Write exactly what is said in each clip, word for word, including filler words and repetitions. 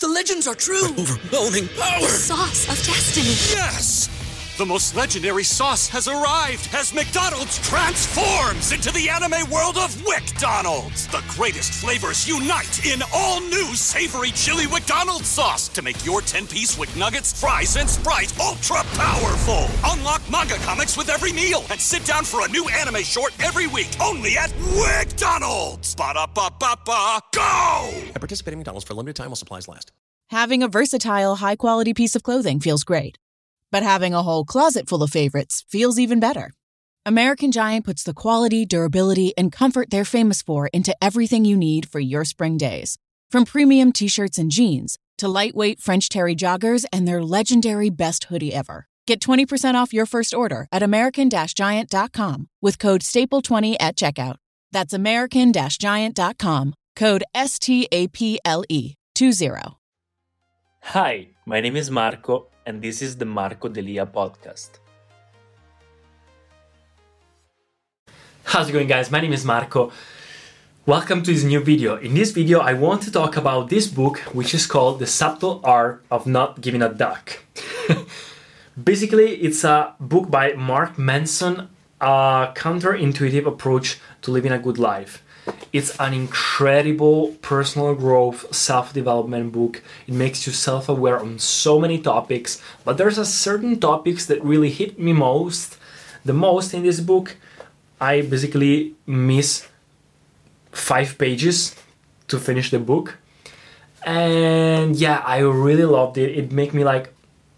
The legends are true. Overwhelming power! Sauce of destiny. Yes! The most legendary sauce has arrived as McDonald's transforms into the anime world of WickDonald's. The greatest flavors unite in all new savory chili McDonald's sauce to make your ten-piece Wick Nuggets, fries, and Sprite ultra-powerful. Unlock manga comics with every meal and sit down for a new anime short every week only at WickDonald's. Ba-da-ba-ba-ba, go! At participating McDonald's for a limited time while supplies last. Having a versatile, high-quality piece of clothing feels great. But having a whole closet full of favorites feels even better. American Giant puts the quality, durability, and comfort they're famous for into everything you need for your spring days. From premium t-shirts and jeans to lightweight French terry joggers and their legendary best hoodie ever. Get twenty percent off your first order at american giant dot com with code staple twenty at checkout. That's american giant dot com, code S T A P L E twenty. Hi, my name is Marco, and this is the Marco Delia podcast. How's it going, guys? My name is Marco. Welcome to this new video. In this video, I want to talk about this book, which is called The Subtle Art of Not Giving a Duck. Basically, it's a book by Mark Manson, a counterintuitive approach to living a good life. It's an incredible personal growth, self-development book. It makes you self-aware on so many topics, but there's a certain topics that really hit me most. The most in this book, I basically miss five pages to finish the book. And yeah, I really loved it. It made me like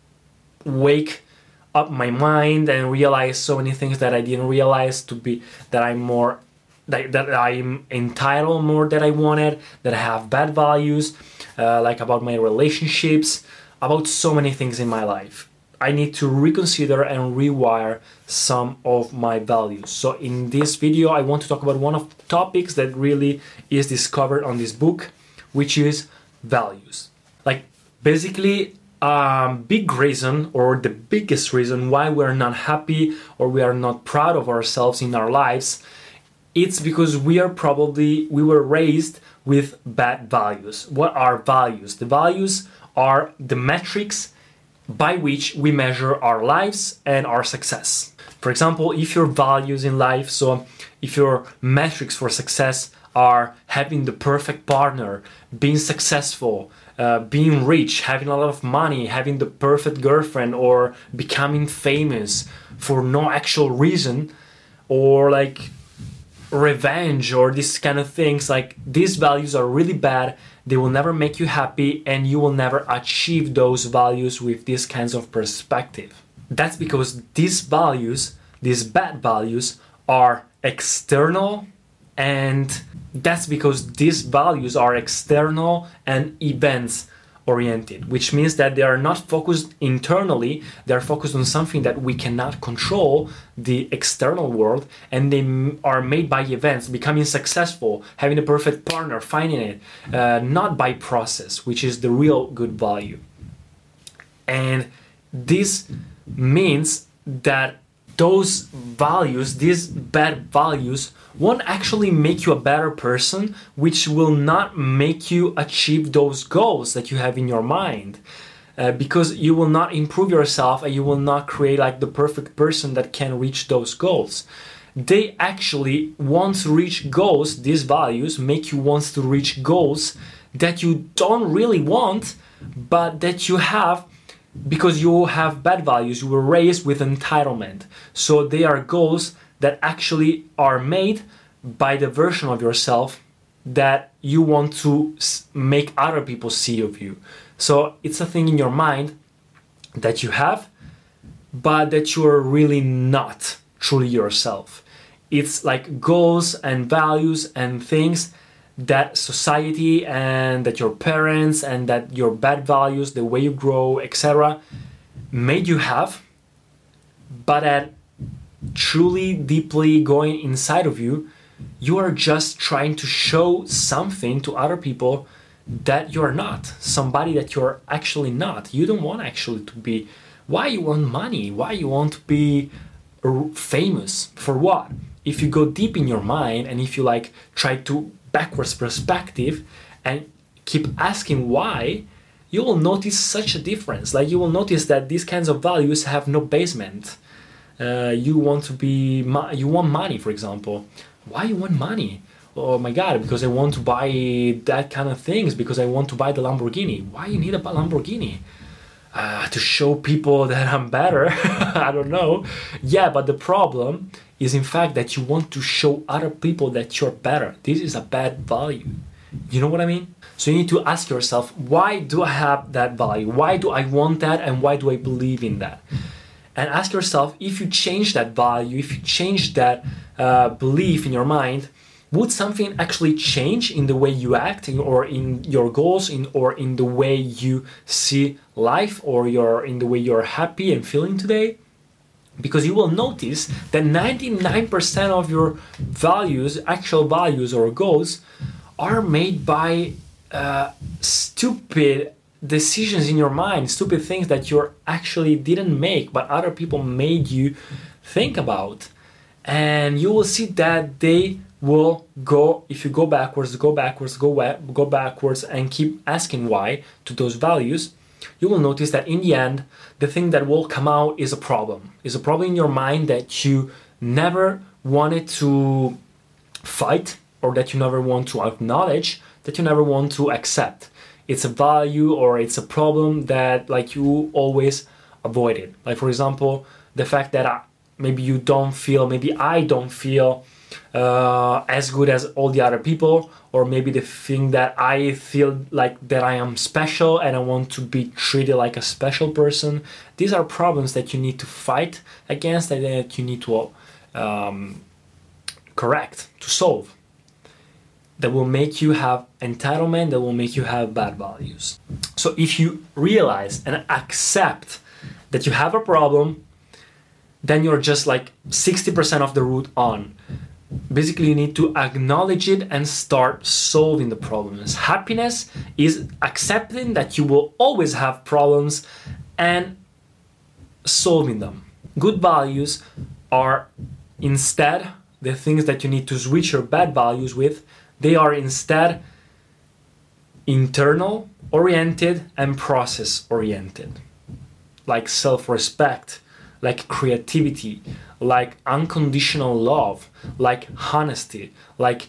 wake up my mind and realize so many things that I didn't realize to be that I'm more That, that I'm entitled more than I wanted, that I have bad values, uh, like about my relationships, about so many things in my life. I need to reconsider and rewire some of my values. So in this video, I want to talk about one of the topics that really is discovered on this book, which is values. Like basically a big reason or the biggest reason why we're not happy or we are not proud of ourselves in our lives, it's because we are probably, we were raised with bad values. What are values? The values are the metrics by which we measure our lives and our success. For example, if your values in life, so if your metrics for success are having the perfect partner, being successful, uh, being rich, having a lot of money, having the perfect girlfriend, or becoming famous for no actual reason, or like revenge or these kind of things, like these values are really bad. They will never make you happy and you will never achieve those values with these kinds of perspective. That's because these values, these bad values, are external, and that's because these values are external and events oriented, which means that they are not focused internally, they are focused on something that we cannot control, the external world, and they are made by events, becoming successful, having a perfect partner, finding it, uh, not by process, which is the real good value. And this means that those values, these bad values, won't actually make you a better person, which will not make you achieve those goals that you have in your mind. Uh, because you will not improve yourself and you will not create like the perfect person that can reach those goals. They actually want to reach goals, these values make you want to reach goals that you don't really want, but that you have because you have bad values. You were raised with entitlement. So they are goals that actually are made by the version of yourself that you want to make other people see of you. So it's a thing in your mind that you have, but that you are really not truly yourself. It's like goals and values and things that society and that your parents and that your bad values, the way you grow, et cetera, made you have, but that truly deeply going inside of you, you are just trying to show something to other people that you're not, somebody that you're actually not. You don't want actually to be, why you want money? Why you want to be famous? For what? If you go deep in your mind and if you like try to backwards perspective and keep asking why, you will notice such a difference. Like, you will notice that these kinds of values have no basement. Uh, you want to be, you want money, for example. Why you want money? Oh my God, because I want to buy that kind of things, because I want to buy the Lamborghini. Why you need a Lamborghini? Uh, to show people that I'm better. I don't know. Yeah, but the problem is in fact that you want to show other people that you're better. This is a bad value. You know what I mean? So you need to ask yourself, why do I have that value? Why do I want that, and why do I believe in that? And ask yourself, if you change that value, if you change that uh, belief in your mind, would something actually change in the way you act, in, or in your goals, in, or in the way you see life, or your, in the way you're happy and feeling today? Because you will notice that ninety-nine percent of your values, actual values or goals, are made by uh, stupid decisions in your mind, stupid things that you actually didn't make, but other people made you think about. And you will see that they will go, if you go backwards, go backwards, go go backwards, and keep asking why to those values, you will notice that in the end, the thing that will come out is a problem. Is a problem in your mind that you never wanted to fight, or that you never want to acknowledge, that you never want to accept. It's a value, or it's a problem that like you always avoided. Like, for example, the fact that I, maybe you don't feel, maybe I don't feel uh, as good as all the other people, or maybe the thing that I feel like that I am special and I want to be treated like a special person. These are problems that you need to fight against, and that you need to um, correct, to solve. That will make you have entitlement, that will make you have bad values. So if you realize and accept that you have a problem, then you're just like sixty percent of the route on. Basically, you need to acknowledge it and start solving the problems. Happiness is accepting that you will always have problems and solving them. Good values are instead the things that you need to switch your bad values with. They are instead internal oriented and process oriented, like self-respect, like creativity, like unconditional love, like honesty, like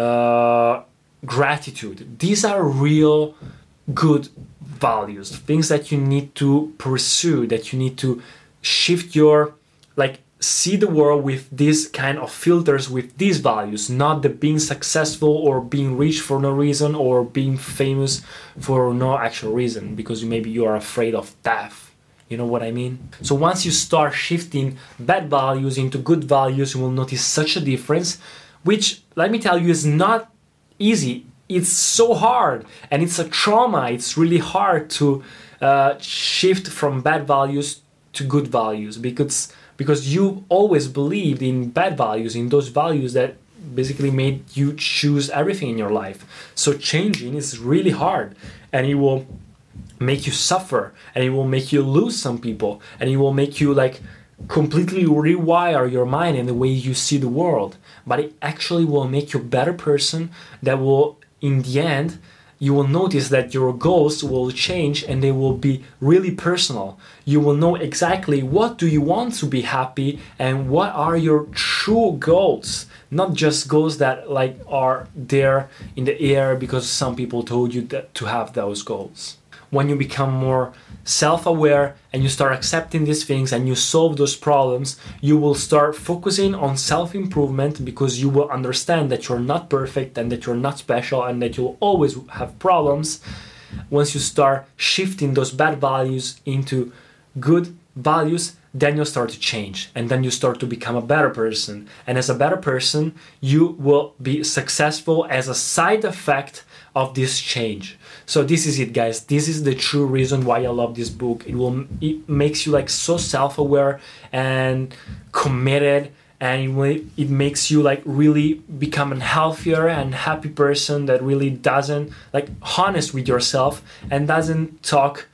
uh, gratitude. These are real good values, things that you need to pursue, that you need to shift your, like, see the world with these kind of filters, with these values, not the being successful or being rich for no reason, or being famous for no actual reason, because maybe you are afraid of death. You know what I mean? So once you start shifting bad values into good values, you will notice such a difference, which, let me tell you, is not easy. It's so hard, and it's a trauma. It's really hard to uh, shift from bad values to good values, because because you always believed in bad values, in those values that basically made you choose everything in your life. So changing is really hard, and it will make you suffer, and it will make you lose some people, and it will make you like completely rewire your mind and the way you see the world. But it actually will make you a better person that will, in the end, you will notice that your goals will change, and they will be really personal. You will know exactly what do you want to be happy, and what are your true goals. Not just goals that like are there in the air because some people told you that to have those goals. When you become more self-aware and you start accepting these things and you solve those problems, you will start focusing on self-improvement, because you will understand that you're not perfect and that you're not special and that you'll always have problems. Once you start shifting those bad values into good values, then you'll start to change, and then you start to become a better person. And as a better person, you will be successful as a side effect of this change. So this is it, guys. This is the true reason why I love this book. It will it makes you like so self-aware and committed, and it, will, it makes you like really become a healthier and happy person that really doesn't, like, honest with yourself and doesn't talk,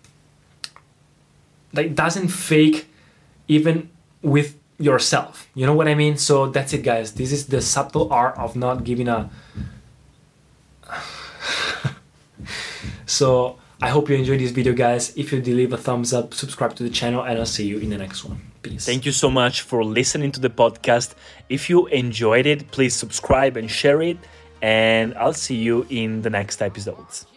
like doesn't fake even with yourself. You know what I mean? So that's it, guys. This is the subtle art of not giving a So I hope you enjoyed this video, guys. If you did, leave a thumbs up, subscribe to the channel, and I'll see you in the next one. Peace. Thank you so much for listening to the podcast. If you enjoyed it, please subscribe and share it, and I'll see you in the next episodes.